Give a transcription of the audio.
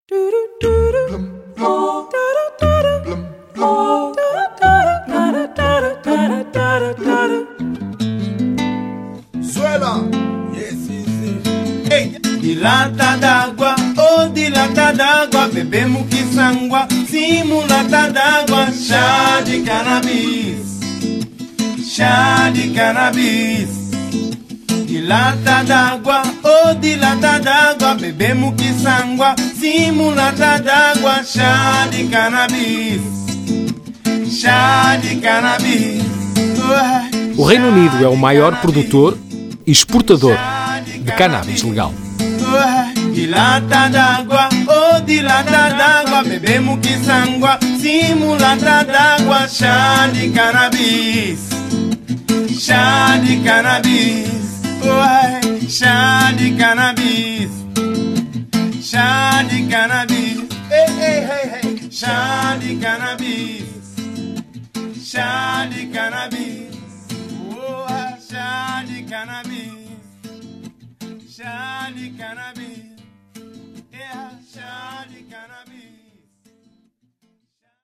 De lata d'água, oh de lata d'água, bebemos que sangua, simulata d'água, chá de cannabis, chá de cannabis. De lata d'água, oh de lata d'água, bebemos que sangua, simulata d'água, chá de cannabis, chá de cannabis. O Reino Unido é o maior produtor e exportador de cannabis legal. De lata d'água, oh de lata d'água, bebemos que sangua, simulata d'água, chá de cannabis, chá de cannabis, oh, chá de cannabis, chá de cannabis, hey, hey, hey, hey, chá de cannabis, chá de cannabis.